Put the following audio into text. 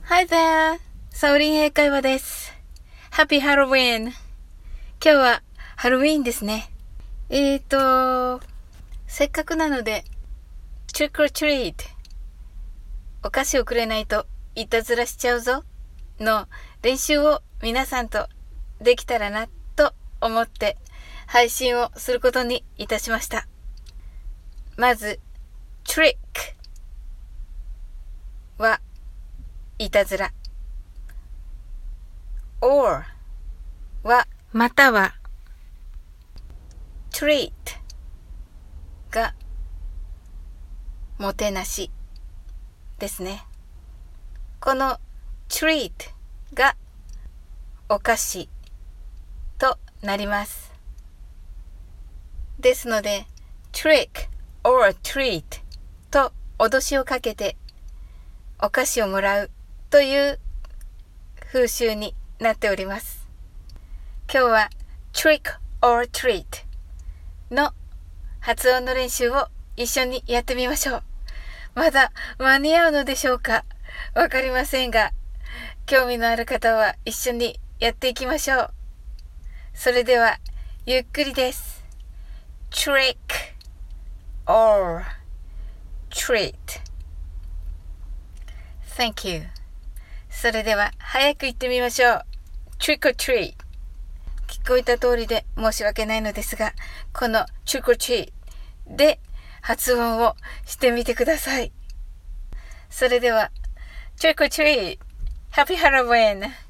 Hi there! サオリン英会話です。Happy Halloween! 今日はハロウィーンですね。せっかくなので、Trick or Treat お菓子をくれないといたずらしちゃうぞの練習を皆さんとできたらなと思って配信をすることにいたしました。まず、Trick はいたずら。or はまたは treat がもてなしですね。この treat がお菓子となります。ですので trick or treat と脅しをかけてお菓子をもらうという風習になっております。今日は trick or treat の発音の練習を一緒にやってみましょう。まだ間に合うのでしょうか？わかりませんが、興味のある方は一緒にやっていきましょう。それではゆっくりです。trick or treat Thank you. それでは早く言ってみましょう。Trick or treat 聞こえた通りで申し訳ないのですが、この Trick or treat で発音をしてみてください。それでは Trick or treat Happy Halloween